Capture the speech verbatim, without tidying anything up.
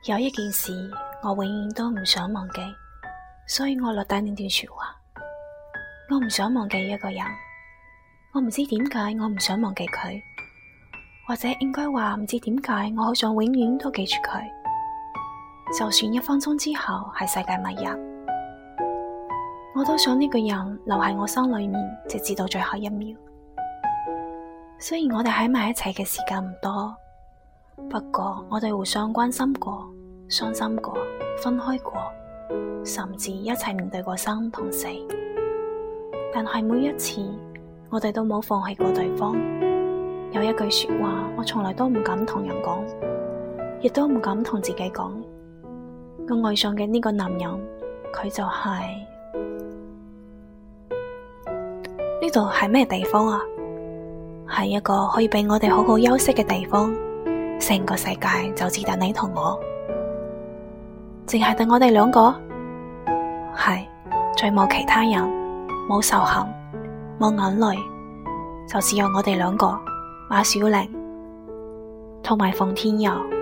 有一件事我永遠都唔想忘記，所以我落低呢段說話。我唔想忘記一個人，我唔知點解我唔想忘記佢，或者應該話唔知點解我好想永遠都記住佢，就算一分鐘之後係世界末日，我都想呢個人留喺我心裏面，直至到最後一秒。雖然我哋喺埋一齊嘅時間唔多，不過我哋互相關心過、傷心過、分開過，甚至一齊面對過生同死。但係每一次，我哋都冇放棄過對方。有一句說話，我從來都唔敢同人講，亦都唔敢同自己講。我愛上嘅呢個男人，佢就係呢度係咩地方啊？係一個可以俾我哋好好休息嘅地方。成個世界就只得你同我，淨係得我哋兩個，係再冇其他人，冇仇恨，冇眼淚，就只有我哋兩個，馬小玲同埋馮天佑。